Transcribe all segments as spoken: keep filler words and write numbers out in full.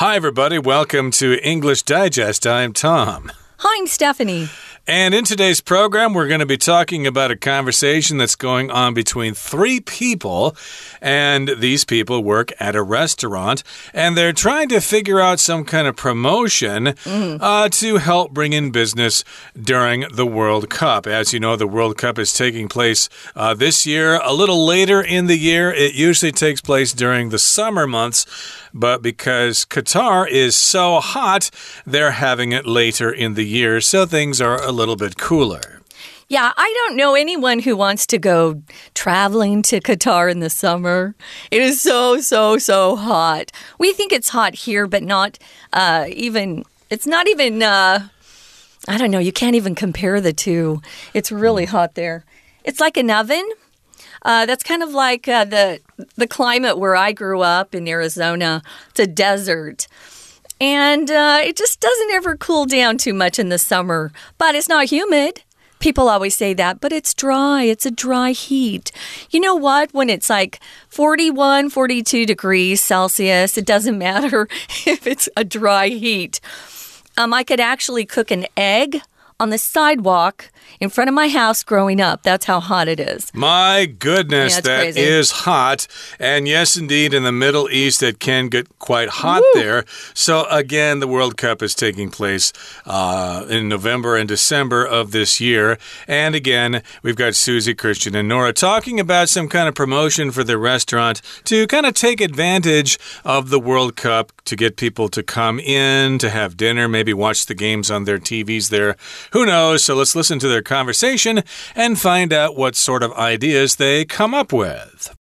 Hi, everybody. Welcome to English Digest. I'm Tom. Hi, I'm Stephanie. And in today's program, we're going to be talking about a conversation that's going on between three people. And these people work at a restaurant, and they're trying to figure out some kind of promotion mm. uh, to help bring in business during the World Cup. As you know, the World Cup is taking place uh, this year, a little later in the year. It usually takes place during the summer months, but because Qatar is so hot, they're having it later in the year, so things are a little bit cooler. Yeah, I don't know anyone who wants to go traveling to Qatar in the summer. It is so, so, so hot. We think it's hot here, but not uh, even, it's not even, uh, I don't know, you can't even compare the two. It's really hot there. It's like an oven. Uh, that's kind of like uh, the, the climate where I grew up in Arizona. It's a desert. And uh, it just doesn't ever cool down too much in the summer. But it's not humid. People always say that, but it's dry. It's a dry heat. You know what? When it's like forty-one, forty-two degrees Celsius, it doesn't matter if it's a dry heat. Um, I could actually cook an egg on the sidewalk in front of my house growing up. That's how hot it is. My goodness, yeah, that crazy. is hot. And yes, indeed, in the Middle East, it can get quite hot Woo. there. So again, the World Cup is taking place uh, in November and December of this year. And again, we've got Susie, Christian, and Nora talking about some kind of promotion for the restaurant to kind of take advantage of the World Cup to get people to come in, to have dinner, maybe watch the games on their T Vs there. Who knows? So let's listen to their conversation and find out what sort of ideas they come up with.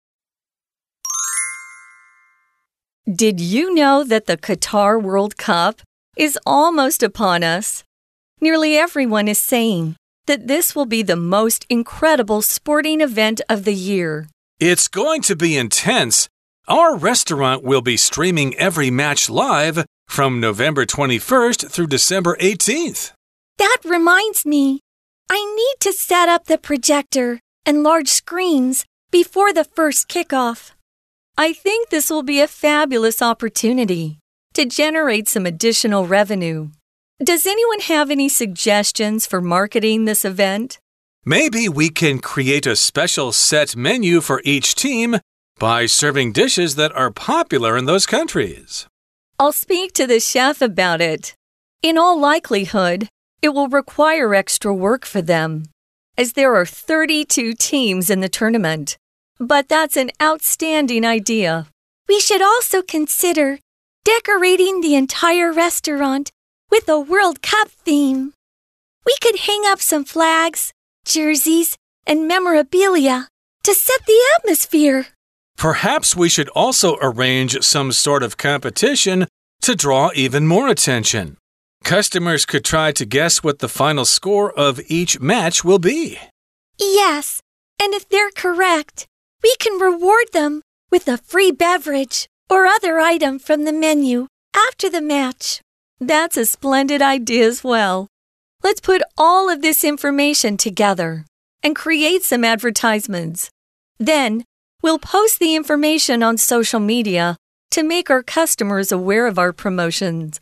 Did you know that the Qatar World Cup is almost upon us? Nearly everyone is saying that this will be the most incredible sporting event of the year. It's going to be intense. Our restaurant will be streaming every match live from November twenty-first through December eighteenth. That reminds me, I need to set up the projector and large screens before the first kickoff. I think this will be a fabulous opportunity to generate some additional revenue. Does anyone have any suggestions for marketing this event? Maybe we can create a special set menu for each team by serving dishes that are popular in those countries. I'll speak to the chef about it. In all likelihood, it will require extra work for them, as there are thirty-two teams in the tournament. But that's an outstanding idea. We should also consider decorating the entire restaurant with a World Cup theme. We could hang up some flags, jerseys, and memorabilia to set the atmosphere. Perhaps we should also arrange some sort of competition to draw even more attention. Customers could try to guess what the final score of each match will be. Yes, and if they're correct, we can reward them with a free beverage or other item from the menu after the match. That's a splendid idea as well. Let's put all of this information together and create some advertisements. Then, we'll post the information on social media to make our customers aware of our promotions.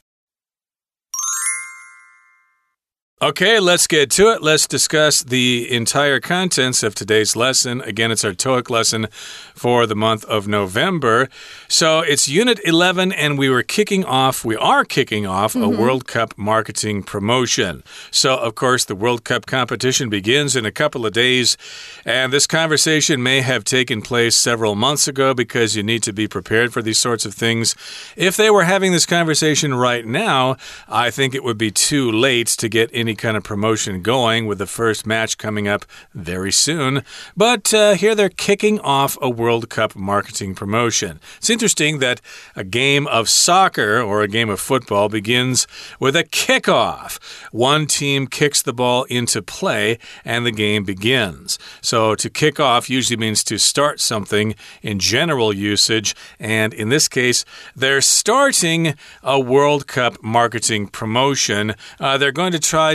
Okay, let's get to it. Let's discuss the entire contents of today's lesson. Again, it's our TOEIC lesson for the month of November. So it's Unit eleven, and we were kicking off, we are kicking off mm-hmm. a World Cup marketing promotion. So, of course, the World Cup competition begins in a couple of days, and this conversation may have taken place several months ago because you need to be prepared for these sorts of things. If they were having this conversation right now, I think it would be too late to get in any kind of promotion going with the first match coming up very soon. But uh, here they're kicking off a World Cup marketing promotion. It's interesting that a game of soccer or a game of football begins with a kickoff. One team kicks the ball into play and the game begins. So to kick off usually means to start something in general usage. And in this case, they're starting a World Cup marketing promotion. Uh, they're going to try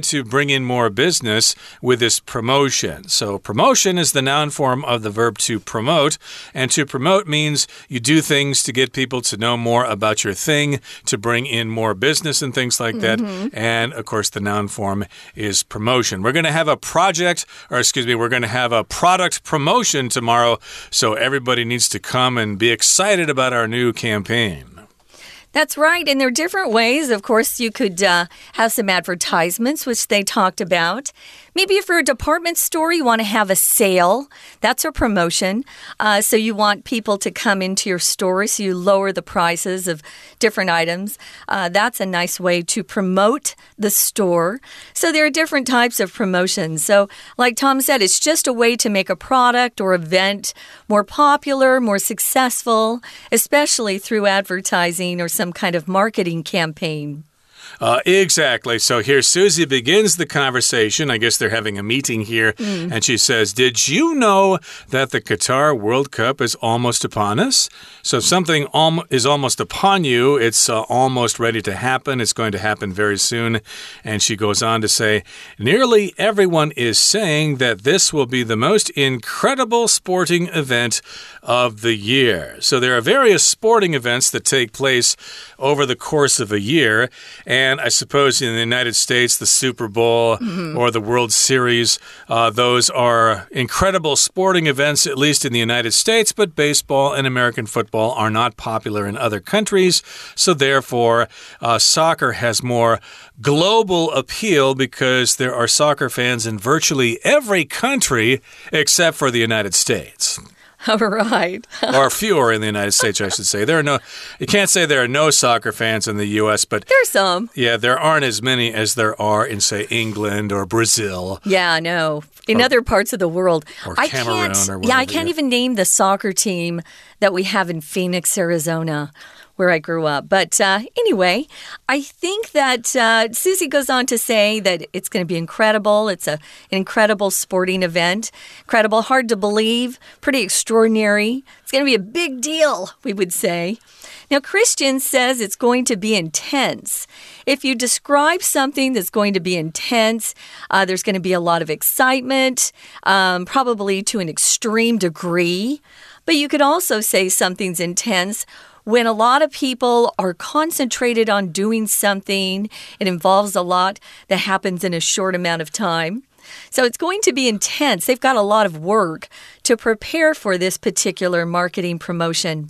to bring in more business with this promotion. So promotion is the noun form of the verb to promote, and to promote means you do things to get people to know more about your thing, to bring in more business and things like that. Mm-hmm. And of course, the noun form is promotion. We're going to have a project, or excuse me, we're going to have a product promotion tomorrow, so everybody needs to come and be excited about our new campaign. That's right. And there are different ways. Of course, you could uh, have some advertisements, which they talked about. Maybe if you're a department store, you want to have a sale. That's a promotion. Uh, so you want people to come into your store, so you lower the prices of different items. Uh, that's a nice way to promote the store. So there are different types of promotions. So like Tom said, it's just a way to make a product or event more popular, more successful, especially through advertising or some kind of marketing campaign. Uh, exactly. So here Susie begins the conversation. I guess they're having a meeting here. Mm. And she says, did you know that the Qatar World Cup is almost upon us? So if something al is almost upon you, it's uh, almost ready to happen. It's going to happen very soon. And she goes on to say, nearly everyone is saying that this will be the most incredible sporting event of the year. So there are various sporting events that take place over the course of a year. And I suppose in the United States, the Super Bowl mm-hmm. or the World Series, uh, those are incredible sporting events, at least in the United States, but baseball and American football are not popular in other countries. So therefore, uh, soccer has more global appeal because there are soccer fans in virtually every country except for the United States. All right. Or fewer in the United States, I should say. There are no, you can't say there are no soccer fans in the U S, but there's some. Yeah, there aren't as many as there are in, say, England or Brazil. Yeah, no. In or, other parts of the world. Or I Cameroon can't, or whatever. Yeah, I can't even name the soccer team that we have in Phoenix, Arizona, where I grew up. But uh, anyway, I think that uh, Susie goes on to say that it's going to be incredible. It's a, an incredible sporting event. Incredible, hard to believe, pretty extraordinary. It's going to be a big deal, we would say. Now, Christian says it's going to be intense. If you describe something that's going to be intense, uh, there's going to be a lot of excitement, um, probably to an extreme degree. But you could also say something's intense when a lot of people are concentrated on doing something. It involves a lot that happens in a short amount of time. So it's going to be intense. They've got a lot of work to prepare for this particular marketing promotion.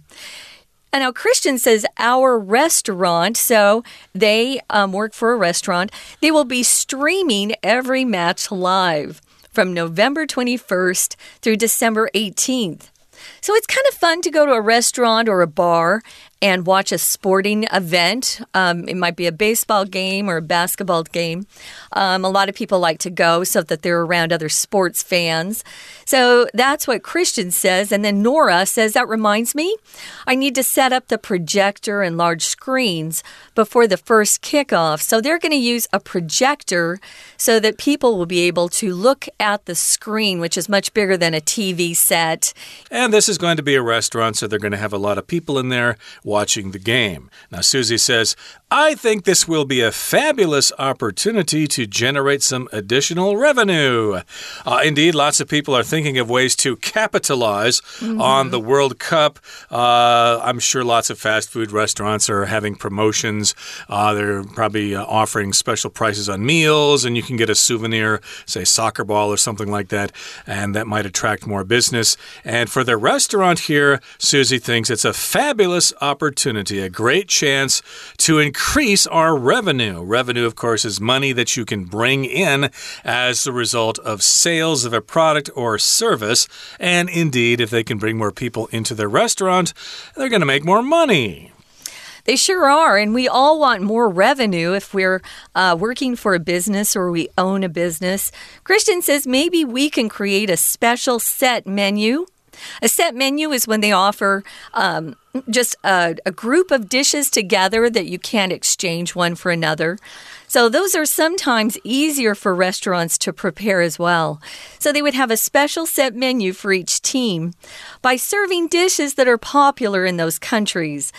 And now Christian says our restaurant, so they um, work for a restaurant, they will be streaming every match live from November twenty-first through December eighteenth. So it's kind of fun to go to a restaurant or a bar and watch a sporting event. Um, it might be a baseball game or a basketball game. Um, a lot of people like to go so that they're around other sports fans. So that's what Christian says. And then Nora says, that reminds me, I need to set up the projector and large screens before the first kickoff. So they're going to use a projector so that people will be able to look at the screen, which is much bigger than a T V set. And this is going to be a restaurant, so they're going to have a lot of people in there watching the game. Now, Susie says, I think this will be a fabulous opportunity to generate some additional revenue. Uh, indeed, lots of people are thinking of ways to capitalize mm-hmm. on the World Cup. Uh, I'm sure lots of fast food restaurants are having promotions. Uh, they're probably uh, offering special prices on meals, and you can get a souvenir, say soccer ball or something like that, and that might attract more business. And for the restaurant here, Susie thinks it's a fabulous opportunity, a great chance to increase our revenue. Revenue, of course, is money that you can bring in as the result of sales of a product or service. And indeed, if they can bring more people into their restaurant, they're going to make more money. They sure are, and we all want more revenue if we're uh, working for a business or we own a business. Christian says maybe we can create a special set menu. A set menu is when they offer um, just a, a group of dishes together that you can't exchange one for another. So those are sometimes easier for restaurants to prepare as well. So they would have a special set menu for each team by serving dishes that are popular in those countries.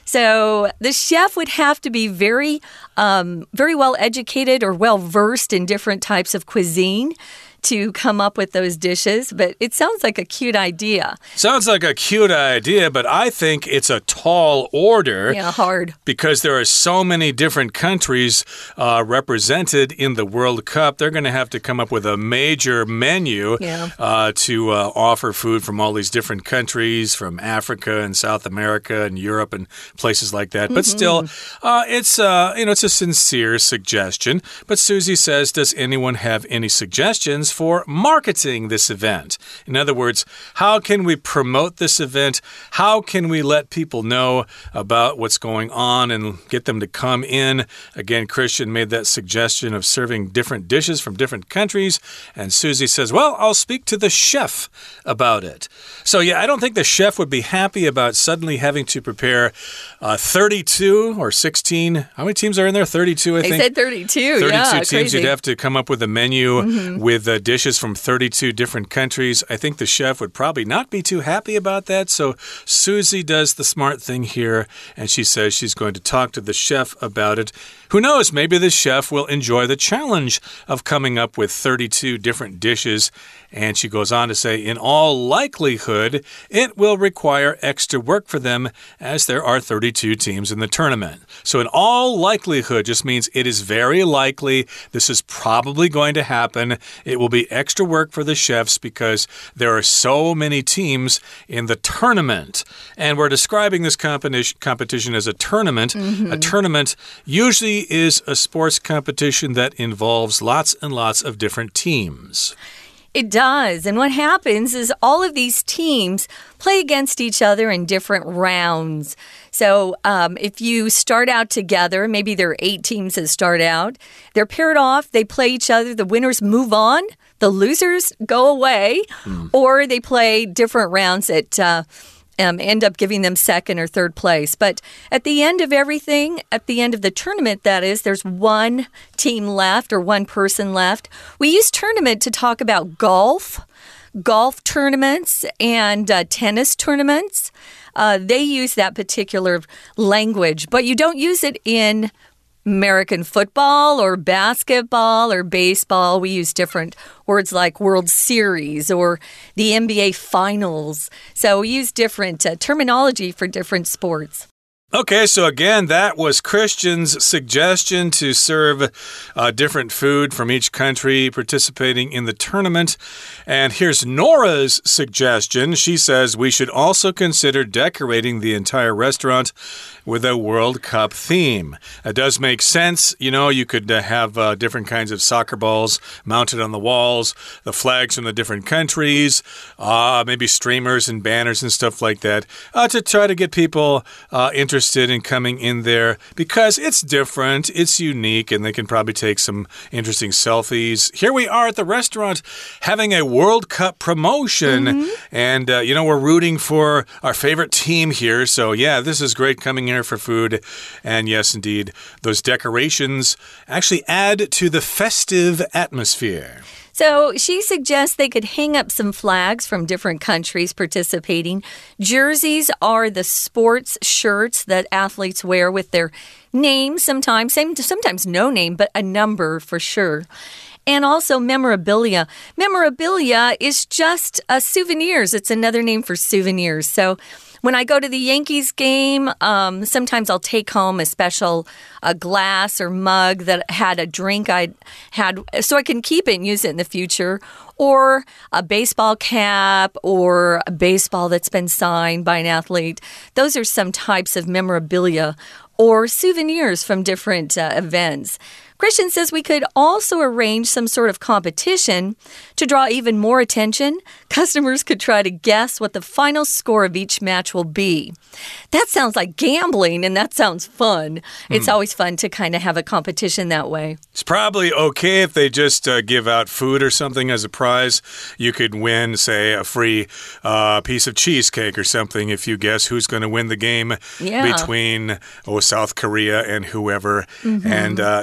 So the chef would have to be very, um, very well educated or well versed in different types of cuisine to come up with those dishes, but it sounds like a cute idea. Sounds like a cute idea, but I think it's a tall order. Yeah, hard. Because there are so many different countries uh, represented in the World Cup. They're going to have to come up with a major menu yeah. uh, to uh, offer food from all these different countries, from Africa and South America and Europe and places like that. But mm-hmm. still, uh, it's, uh, you know, it's a sincere suggestion. But Susie says, does anyone have any suggestions for marketing this event? In other words, how can we promote this event? How can we let people know about what's going on and get them to come in? Again, Christian made that suggestion of serving different dishes from different countries, and Susie says, well, I'll speak to the chef about it. So yeah, I don't think the chef would be happy about suddenly having to prepare uh, thirty-two or sixteen. How many teams are in there? thirty-two, I they think. They said thirty-two, thirty-two yeah, teams. crazy. You'd have to come up with a menu mm-hmm. with uh, dishes from thirty-two different countries. I think the chef would probably not be too happy about that. So Susie does the smart thing here, and she says she's going to talk to the chef about it. Who knows? Maybe the chef will enjoy the challenge of coming up with thirty-two different dishes. And she goes on to say, in all likelihood, it will require extra work for them as there are thirty-two teams in the tournament. So in all likelihood just means it is very likely this is probably going to happen. It will be extra work for the chefs because there are so many teams in the tournament. And we're describing this competition, competition as a tournament. Mm-hmm. A tournament usually is a sports competition that involves lots and lots of different teams. It does. And what happens is all of these teams play against each other in different rounds. So um, if you start out together, maybe there are eight teams that start out. They're paired off. They play each other. The winners move on. The losers go away. Mm. Or they play different rounds that uh, um, end up giving them second or third place. But at the end of everything, at the end of the tournament, that is, there's one team left or one person left. We use tournament to talk about golf, golf tournaments, and uh, tennis tournaments. Uh, they use that particular language, but you don't use it in American football or basketball or baseball. We use different words like World Series or the N B A Finals. So we use different uh, terminology for different sports. Okay, so again, that was Christian's suggestion to serve uh, different food from each country participating in the tournament. And here's Nora's suggestion. She says we should also consider decorating the entire restaurant with a World Cup theme. It does make sense. You know, you could uh, have uh, different kinds of soccer balls mounted on the walls, the flags from the different countries, uh, maybe streamers and banners and stuff like that uh, to try to get people uh, interested in coming in there because it's different, it's unique, and they can probably take some interesting selfies. Here we are at the restaurant having a World Cup promotion, mm-hmm. and, uh, you know, we're rooting for our favorite team here. So, yeah, this is great coming here for food. And yes, indeed, those decorations actually add to the festive atmosphere. So she suggests they could hang up some flags from different countries participating. Jerseys are the sports shirts that athletes wear with their name sometimes, sometimes no name, but a number for sure. And also memorabilia. Memorabilia is just uh, souvenirs. It's another name for souvenirs. So when I go to the Yankees game, um, sometimes I'll take home a special a glass or mug that had a drink I had so I can keep it and use it in the future. Or a baseball cap or a baseball that's been signed by an athlete. Those are some types of memorabilia or souvenirs from different uh, events. Christian says we could also arrange some sort of competition to draw even more attention. Customers could try to guess what the final score of each match will be. That sounds like gambling, and that sounds fun. It's mm. always fun to kind of have a competition that way. It's probably okay if they just uh, give out food or something as a prize. You could win, say, a free uh, piece of cheesecake or something if you guess who's going to win the game yeah. between oh, South Korea and whoever. Mm-hmm. And uh, indeed, that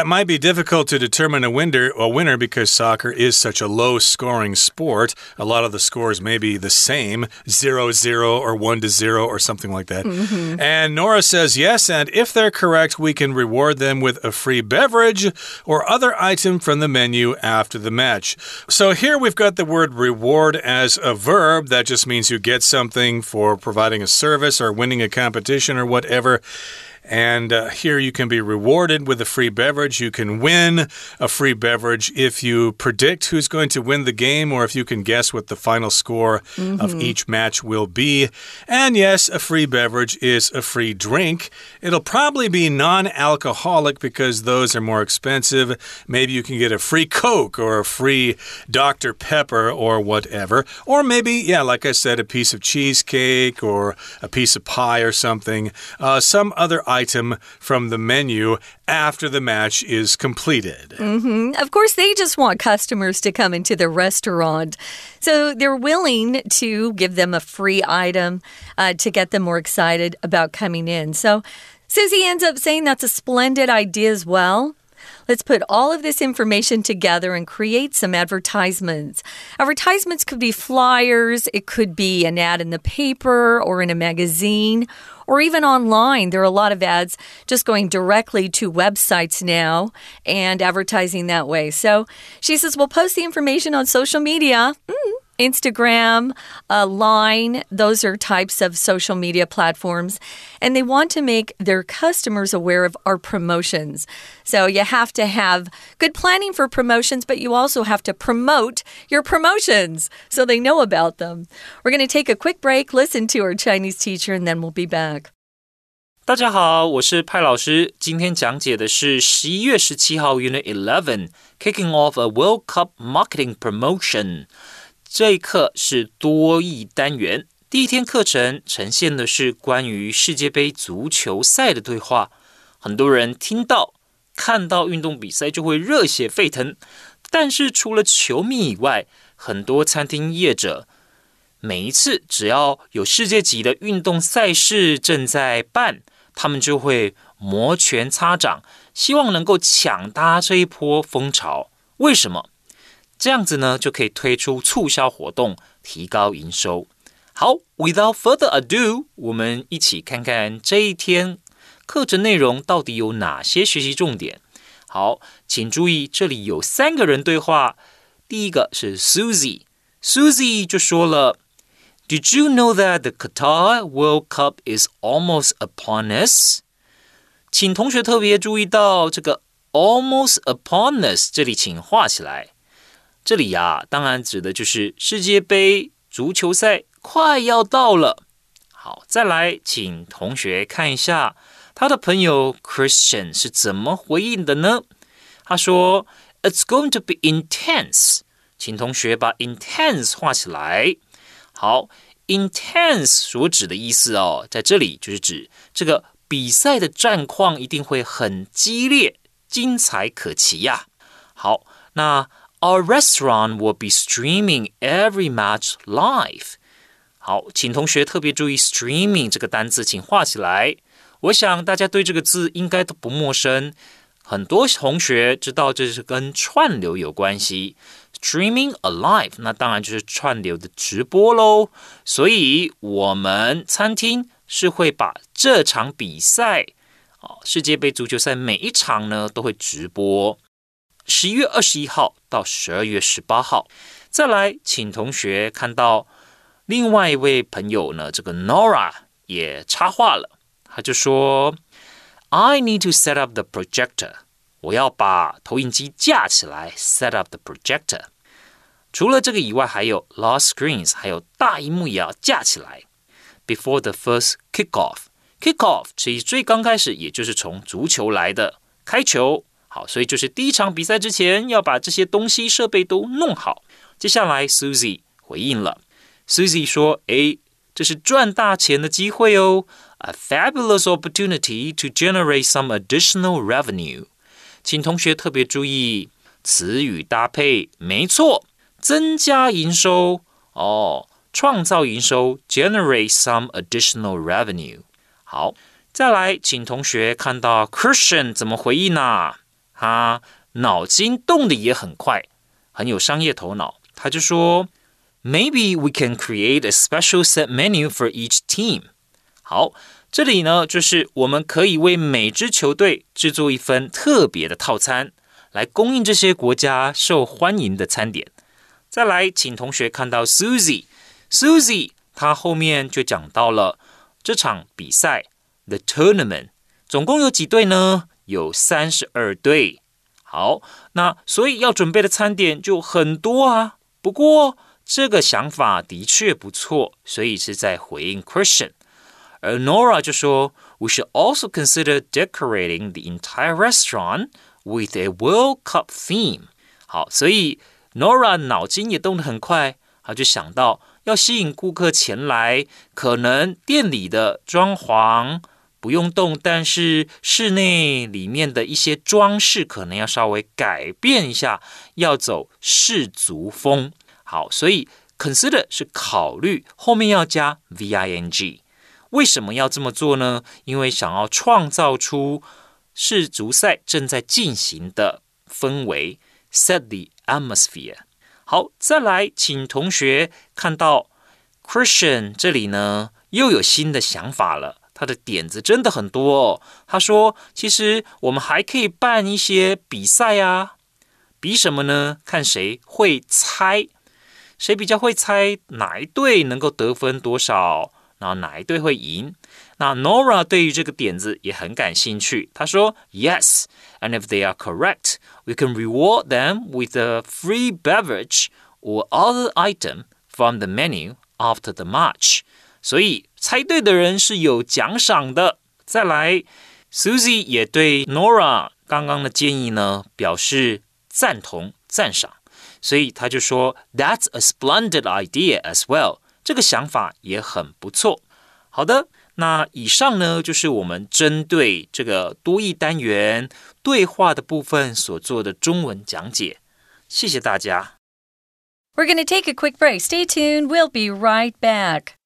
it might be difficult to determine a winner, a winner because soccer is such a low-scoring sport. A lot of the scores may be the same, zero zero or one to zero or something like that. Mm-hmm. And Nora says yes, and if they're correct, we can reward them with a free beverage or other item from the menu after the match. So here we've got the word reward as a verb. That just means you get something for providing a service or winning a competition or whatever. And uh, here you can be rewarded with a free beverage. You can win a free beverage if you predict who's going to win the game or if you can guess what the final score mm-hmm. of each match will be. And yes, a free beverage is a free drink. It'll probably be non-alcoholic because those are more expensive. Maybe you can get a free Coke or a free Doctor Pepper or whatever. Or maybe, yeah, like I said, a piece of cheesecake or a piece of pie or something. Uh, some other item from the menu after the match is completed. Mm-hmm. Of course, they just want customers to come into the restaurant. So they're willing to give them a free item uh, to get them more excited about coming in. So Susie ends up saying that's a splendid idea as well. Let's put all of this information together and create some advertisements. Advertisements could be flyers, it could be an ad in the paper or in a magazine, or even online. There are a lot of ads just going directly to websites now and advertising that way. So she says, we'll post the information on social media. Mm. Instagram, uh, Line, those are types of social media platforms. And they want to make their customers aware of our promotions. So you have to have good planning for promotions, but you also have to promote your promotions so they know about them. We're going to take a quick break, listen to our Chinese teacher, and then we'll be back. 大家好，我是派老師。今天講解的是十一月十七號 Unit eleven, Kicking Off a World Cup Marketing Promotion。這一課是多益單元，第一天課程呈現的是關於世界盃足球賽的對話。很多人聽到、看到運動比賽就會熱血沸騰，但是除了球迷以外，很多餐廳業者每一次只要有世界級的運動賽事正在辦，他們就會摩拳擦掌，希望能夠搶搭這一波風潮。為什麼？這樣子呢，就可以推出促銷活動，提高營收。好 ，Without further ado， 我們一起看看這一天課程內容到底有哪些學習重點。好，請注意，這裡有三個人對話。第一個是 Susie，Susie 就說了 ，Did you know that the Qatar World Cup is almost upon us？ 請同學特別注意到這個 almost upon us， 這裡請畫起來。這裡呀，當然指的就是世界盃足球賽快要到了。好，再來，請同學看一下他的朋友 Christian 是怎麼回應的呢？他說 It's going to be intense。 請同學把 intense 畫起來。好 intense 所指的意思哦，在這裡就是指這個比賽的戰況一定會很激烈，精彩可期呀。好，那Our restaurant will be streaming every match live. 好，請同學特別注意 streaming 這個單字，請畫起來。我想大家對這個字應該都不陌生，很多同學知道這是跟串流有關係。Streaming alive， 那當然就是串流的直播咯。所以我們餐廳是會把這場比賽，世界盃足球賽每一場呢都會直播。十一月二十一號到十二月十八號，再來，請同學看到另外一位朋友呢，這個 Nora 也插話了，他就說 I need to set up the projector， 我要把投影機架起來 set up the projector。 除了這個以外，還有 large screens， 還有大螢幕也要架起來 before the first kickoff。 kickoff 其實最剛開始也就是從足球來的，開球。好，所以就是第一場比賽之前要把這些東西設備都弄好。接下來 Susie 回應了 Susie 說誒，這是賺大錢的機會哦， A fabulous opportunity to generate some additional revenue。 請同學特別注意詞語搭配，沒錯，增加營收哦，創造營收 generate some additional revenue。 好，再來請同學看到 Christian 怎麼回應啊他腦筋動得也很快，很有商業頭腦。他就說 Maybe we can create a special set menu for each team. 好，這裡呢，就是我們可以為每支球隊制作一份特別的套餐，來供應這些國家受歡迎的餐點。再來，請同學看到 Susie。Susie 她後面就講到了這場比賽 The tournament 總共有幾隊呢？有三十二隊。好，那所以要準備的餐點就很多啊。不過這個想法的確不錯，所以是在回應 Christian。而 Nora 就說 We should also consider decorating the entire restaurant with a World Cup theme. 好，所以 Nora 腦筋也動得很快，他就想到要吸引顧客前來，可能店裡的裝潢不用動，但是室內裡面的一些裝飾可能要稍微改變一下，要走世俗風。好，所以 consider 是考慮，後面要加 V I N G。為什麼要這麼做呢？因為想要創造出世足賽正在進行的氛圍 set the atmosphere。 好，再來請同學看到 Christian 這裡呢又有新的想法了，他的點子真的很多哦。他說其實我們還可以辦一些比賽啊。比什麼呢？看誰會猜，誰比較會猜哪一隊能夠得分多少，然後哪一隊會贏。那 Nora 對於這個點子也很感興趣，他說 Yes, and if they are correct, we can reward them with a free beverage or other item from the menu after the match. 所以猜對的人是有獎賞的。再來 Susie 也對 Nora 剛剛的建議呢表示贊同讚賞，所以他就說 That's a splendid idea as well. 這個想法也很不錯。好的，那以上呢就是我們針對這個多益單元對話的部分所做的中文講解。謝謝大家。 We're going to take a quick break. Stay tuned. We'll be right back.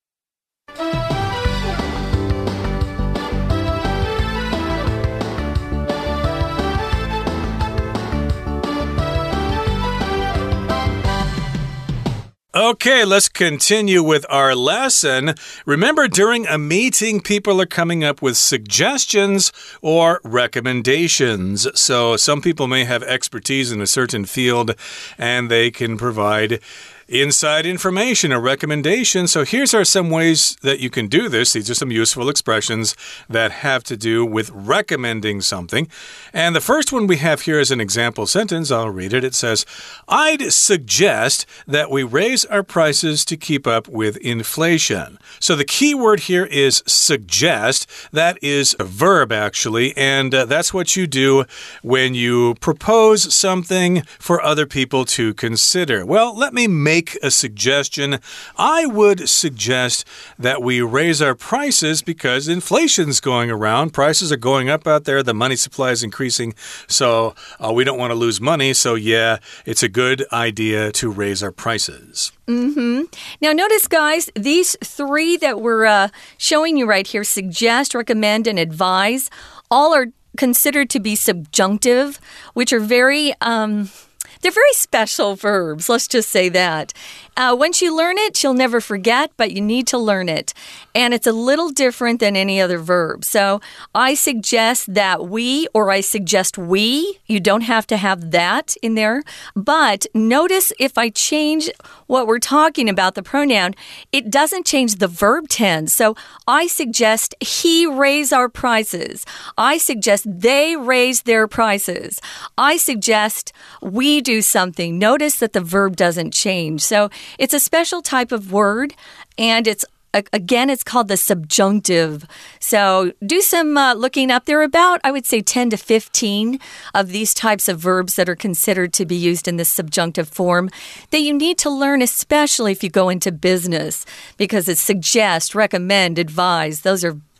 Okay, let's continue with our lesson. Remember, during a meeting, people are coming up with suggestions or recommendations. So some people may have expertise in a certain field, and they can provide inside information, a recommendation. So here's are some ways that you can do this. These are some useful expressions that have to do with recommending something. And the first one we have here is an example sentence. I'll read it. It says, I'd suggest that we raise our prices to keep up with inflation. So the key word here is suggest. That is a verb, actually, and uh, that's what you do when you propose something for other people to consider. Well, let me make Make a suggestion. I would suggest that we raise our prices because inflation's going around. Prices are going up out there. The money supply is increasing. So uh, we don't want to lose money. So yeah, it's a good idea to raise our prices. Mm-hmm. Now notice, guys, these three that we're uh, showing you right here, suggest, recommend, and advise, all are considered to be subjunctive, which are very... Um, They're very special verbs, let's just say that. Uh, once you learn it, you'll never forget, but you need to learn it. And it's a little different than any other verb. So I suggest that we, or I suggest we. You don't have to have that in there. But notice if I change what we're talking about, the pronoun, it doesn't change the verb tense. So I suggest he raise our prices. I suggest they raise their prices. I suggest we do something. Notice that the verb doesn't change. So it's a special type of word, and it's again, it's called the subjunctive. So do some uh, looking up. There are about, I would say, ten to fifteen of these types of verbs that are considered to be used in this subjunctive form that you need to learn, especially if you go into business, because it's suggest, recommend, advise. Those are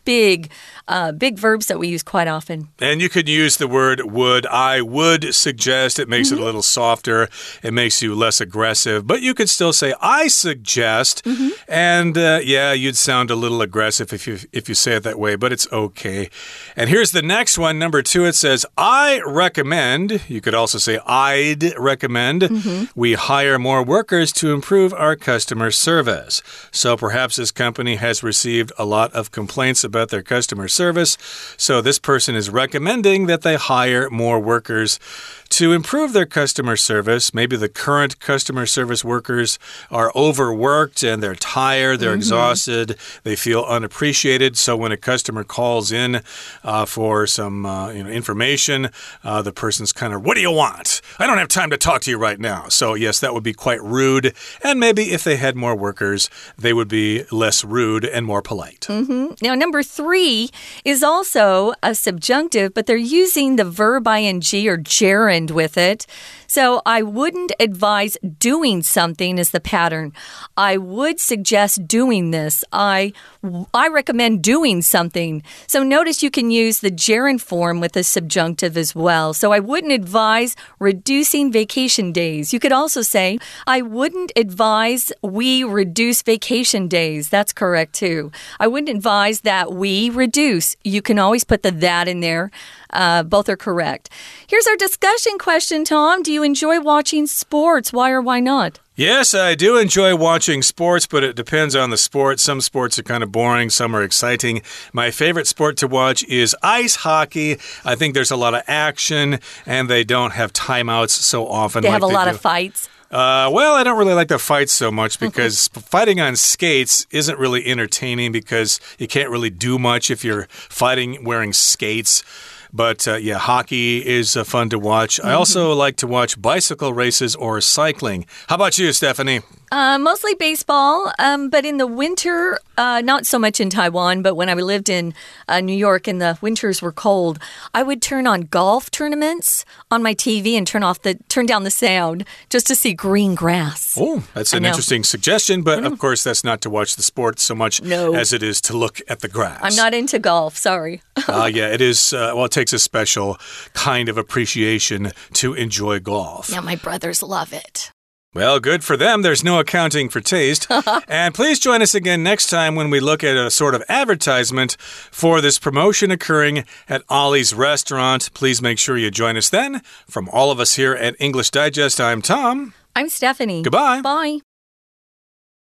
big, uh, big verbs that we use quite often. And you could use the word would. I would suggest. It makes mm-hmm. it a little softer. It makes you less aggressive. But you could still say, I suggest. Mm-hmm. And uh, yeah, you'd sound a little aggressive if you, if you say it that way, but it's okay. And here's the next one, number two. It says, I recommend. You could also say, I'd recommend. Mm-hmm. We hire more workers to improve our customer service. So perhaps this company has received a lot of complaints about their customer service. So this person is recommending that they hire more workers to improve their customer service. Maybe the current customer service workers are overworked and they're tired, they're mm-hmm. exhausted, they feel unappreciated. So when a customer calls in uh, for some uh, you know, information, uh, the person's kind of, what do you want? I don't have time to talk to you right now. So yes, that would be quite rude. And maybe if they had more workers, they would be less rude and more polite. Mm-hmm. Now, number three is also a subjunctive, but they're using the verb ing or gerund with it. So I wouldn't advise doing something is the pattern. I would suggest doing this. I, I recommend doing something. So notice you can use the gerund form with the subjunctive as well. So I wouldn't advise reducing vacation days. You could also say, I wouldn't advise we reduce vacation days. That's correct too. I wouldn't advise that we reduce. You can always put the that in there. Uh, both are correct. Here's our discussion question, Tom. Do you enjoy watching sports? Why or why not? Yes, I do enjoy watching sports, but it depends on the sport. Some sports are kind of boring, some are exciting. My favorite sport to watch is ice hockey. I think there's a lot of action, and they don't have timeouts so often. They like have a they lot do. of fights. Uh, well, I don't really like the fights so much because fighting on skates isn't really entertaining because you can't really do much if you're fighting wearing skates. But uh, yeah, hockey is uh, fun to watch. Mm-hmm. I also like to watch bicycle races or cycling. How about you, Stephanie? Uh, mostly baseball, um, but in the winter, uh, not so much in Taiwan, but when I lived in uh, New York and the winters were cold, I would turn on golf tournaments on my T V and turn off the turn down the sound just to see green grass. Oh, that's an interesting suggestion, but of course that's not to watch the sport so much no. as it is to look at the grass. I'm not into golf, sorry. uh, yeah, it is, uh, well, it takes a special kind of appreciation to enjoy golf. Yeah, my brothers love it. Well, good for them. There's no accounting for taste. And please join us again next time when we look at a sort of advertisement for this promotion occurring at Ollie's Restaurant. Please make sure you join us then. From all of us here at English Digest, I'm Tom. I'm Stephanie. Goodbye. Bye.